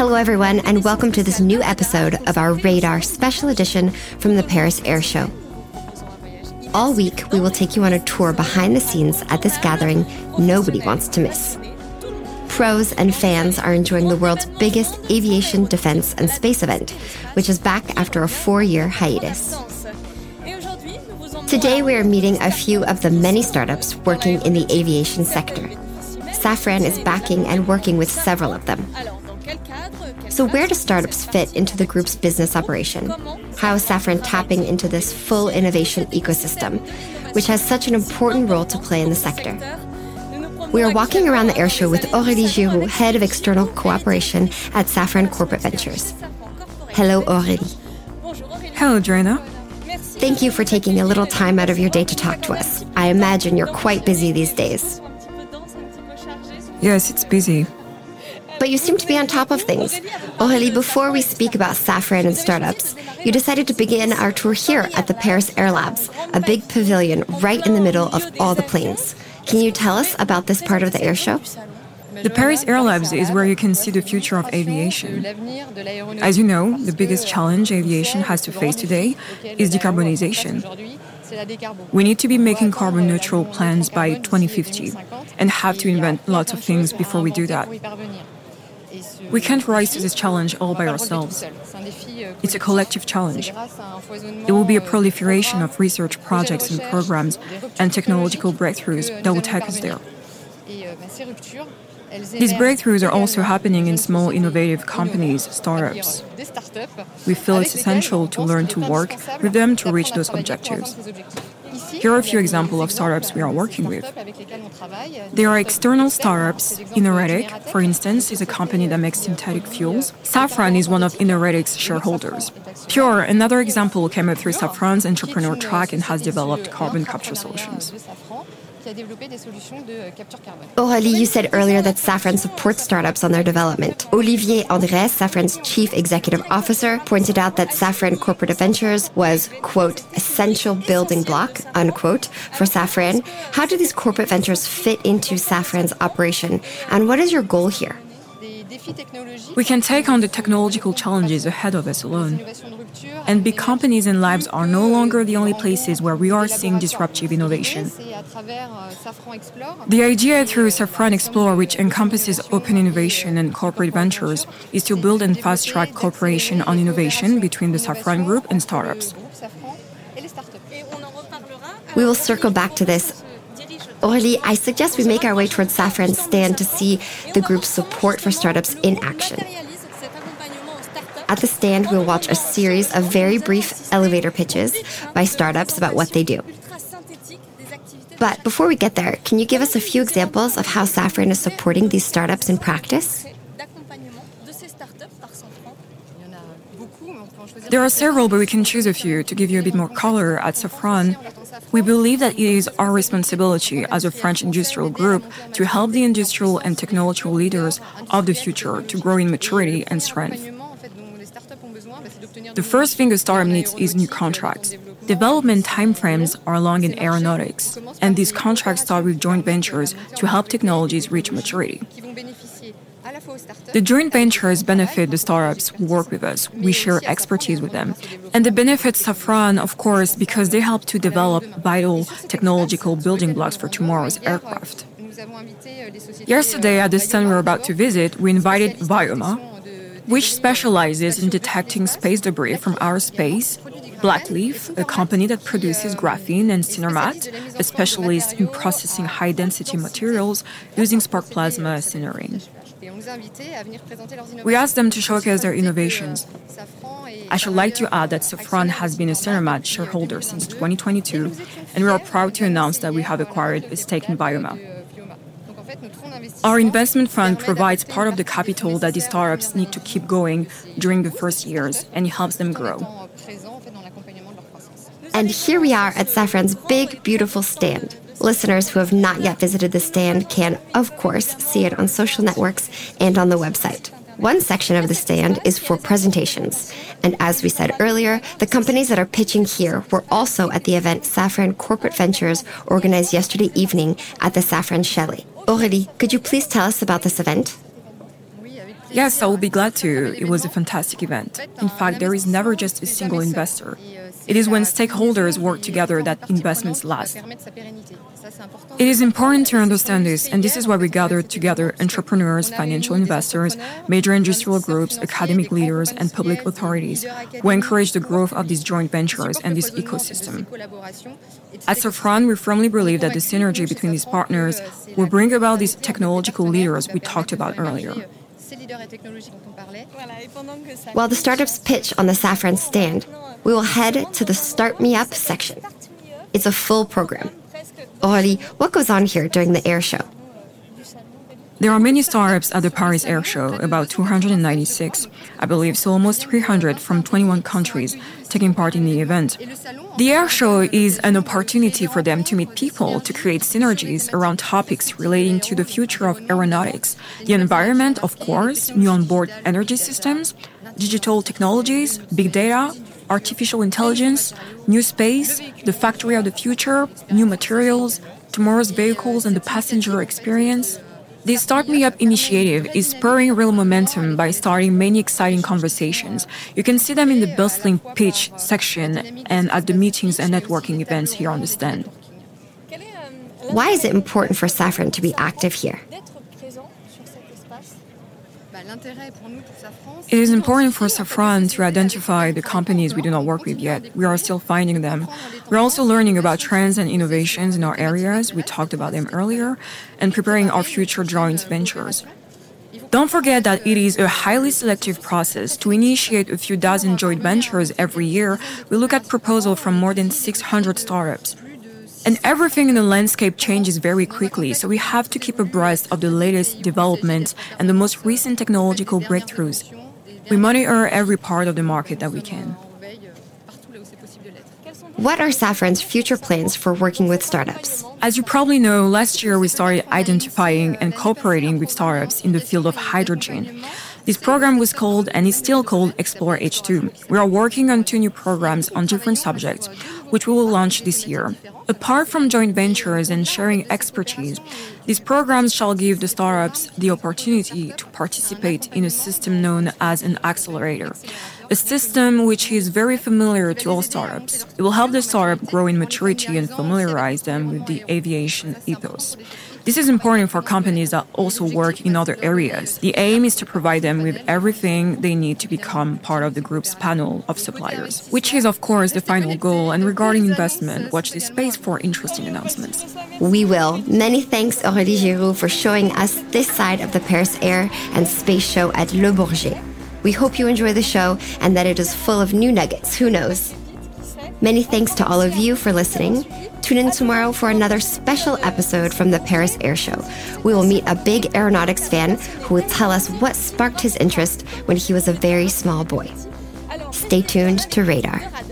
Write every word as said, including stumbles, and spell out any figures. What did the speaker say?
Hello, everyone, and welcome to this new episode of our Radar special edition from the Paris Air Show. All week, we will take you on a tour behind the scenes at this gathering nobody wants to miss. Pros and fans are enjoying the world's biggest aviation, defense, and space event, which is back after a four-year hiatus. Today, we are meeting a few of the many startups working in the aviation sector. Safran is backing and working with several of them. So where do startups fit into the group's business operation? How is Safran tapping into this full innovation ecosystem, which has such an important role to play in the sector? We are walking around the airshow with Aurélie Giroux, Head of External Cooperation at Safran Corporate Ventures. Hello, Aurélie. Hello, Joanna. Thank you for taking a little time out of your day to talk to us. I imagine you're quite busy these days. Yes, it's busy. But you seem to be on top of things. Aurélie, before we speak about Safran and startups, you decided to begin our tour here at the Paris Air Labs, a big pavilion right in the middle of all the planes. Can you tell us about this part of the air show? The Paris Air Labs is where you can see the future of aviation. As you know, the biggest challenge aviation has to face today is decarbonization. We need to be making carbon neutral plans by twenty fifty and have to invent lots of things before we do that. We can't rise to this challenge all by ourselves. It's a collective challenge. It will be a proliferation of research projects and programs and technological breakthroughs that will take us there. These breakthroughs are also happening in small innovative companies, startups. We feel it's essential to learn to work with them to reach those objectives. Here are a few examples of startups we are working with. There are external startups. Innoretic, for instance, is a company that makes synthetic fuels. Safran is one of Innoretic's shareholders. Pure, another example, came up through Safran's entrepreneur track and has developed carbon capture solutions. Aurélie, you said earlier that Safran supports startups on their development. Olivier Andrès, Safran's chief executive officer, pointed out that Safran Corporate Ventures was, quote, essential building block, unquote, for Safran. How do these corporate ventures fit into Safran's operation, and what is your goal here? We can take on the technological challenges ahead of us alone. And big companies and labs are no longer the only places where we are seeing disruptive innovation. The idea through Safran Explore, which encompasses open innovation and corporate ventures, is to build and fast-track cooperation on innovation between the Safran Group and startups. We will circle back to this. Aurélie, I suggest we make our way towards Safran's stand to see the group's support for startups in action. At the stand, we'll watch a series of very brief elevator pitches by startups about what they do. But before we get there, can you give us a few examples of how Safran is supporting these startups in practice? There are several, but we can choose a few to give you a bit more color. At Safran, we believe that it is our responsibility as a French industrial group to help the industrial and technological leaders of the future to grow in maturity and strength. The first thing a startup needs is new contracts. Development timeframes are long in aeronautics, and these contracts start with joint ventures to help technologies reach maturity. The joint ventures benefit the startups who work with us. We share expertise with them. And the benefits Safran, of course, because they help to develop vital technological building blocks for tomorrow's aircraft. Yesterday, at the stand we were about to visit, we invited Vioma, which specializes in detecting space debris from outer space, Blackleaf, a company that produces graphene, and Cinermat, a specialist in processing high-density materials using spark plasma sintering. We asked them to showcase their innovations. I should like to add that Safran has been a Cinermat shareholder since twenty twenty-two, and we are proud to announce that we have acquired a stake in Vioma. Our investment fund provides part of the capital that these startups need to keep going during the first years, and it helps them grow. And here we are at Safran's big, beautiful stand. Listeners who have not yet visited the stand can, of course, see it on social networks and on the website. One section of the stand is for presentations. And as we said earlier, the companies that are pitching here were also at the event Safran Corporate Ventures organized yesterday evening at the Safran Chalet. Aurélie, could you please tell us about this event? Yes, I will be glad to. It was a fantastic event. In fact, there is never just a single investor. It is when stakeholders work together that investments last. It is important to understand this, and this is why we gathered together entrepreneurs, financial investors, major industrial groups, academic leaders, and public authorities who encourage the growth of these joint ventures and this ecosystem. At Safran, we firmly believe that the synergy between these partners will bring about these technological leaders we talked about earlier. While the startups pitch on the Safran stand, we will head to the Start Me Up section. It's a full program. Aurélie, what goes on here during the air show? There are many startups at the Paris Air Show, about two hundred ninety-six, I believe, so almost three hundred from twenty-one countries taking part in the event. The air show is an opportunity for them to meet people, to create synergies around topics relating to the future of aeronautics, the environment, of course, new onboard energy systems, digital technologies, big data, artificial intelligence, new space, the factory of the future, new materials, tomorrow's vehicles and the passenger experience. The Start Me Up initiative is spurring real momentum by starting many exciting conversations. You can see them in the bustling pitch section and at the meetings and networking events here on the stand. Why is it important for Safran to be active here? It is important for Safran to identify the companies we do not work with yet. We are still finding them. We're also learning about trends and innovations in our areas, we talked about them earlier, and preparing our future joint ventures. Don't forget that it is a highly selective process. To initiate a few dozen joint ventures every year, we look at proposals from more than six hundred startups. And everything in the landscape changes very quickly, so we have to keep abreast of the latest developments and the most recent technological breakthroughs. We monitor every part of the market that we can. What are Safran's future plans for working with startups? As you probably know, last year we started identifying and cooperating with startups in the field of hydrogen. This program was called, and is still called, Explore H two. We are working on two new programs on different subjects, which we will launch this year. Apart from joint ventures and sharing expertise, these programs shall give the startups the opportunity to participate in a system known as an accelerator, a system which is very familiar to all startups. It will help the startup grow in maturity and familiarize them with the aviation ethos. This is important for companies that also work in other areas. The aim is to provide them with everything they need to become part of the group's panel of suppliers, which is, of course, the final goal. And regarding investment, watch this space for interesting announcements. We will. Many thanks, Aurélie Giroux, for showing us this side of the Paris Air and Space Show at Le Bourget. We hope you enjoy the show and that it is full of new nuggets. Who knows? Many thanks to all of you for listening. Tune in tomorrow for another special episode from the Paris Air Show. We will meet a big aeronautics fan who will tell us what sparked his interest when he was a very small boy. Stay tuned to Radar.